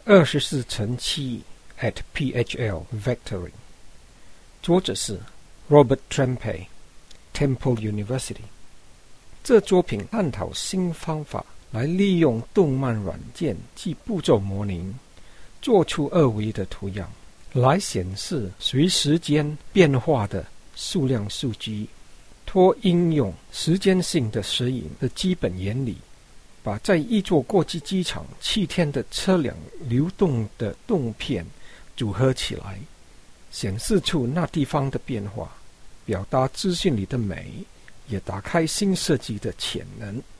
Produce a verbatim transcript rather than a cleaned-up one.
二十四乘七 at P H L Vectoring， 作者是 Robert Trempe Temple University。 这作品探讨新方法来利用动漫软件及步骤模拟做出二维的图样，来显示随时间变化的数量数据，托应用时间性的摄影的基本原理，把在一座国际机场七天的车辆流动的动片组合起来，显示出那地方的变化，表达资讯里的美，也打开新设计的潜能。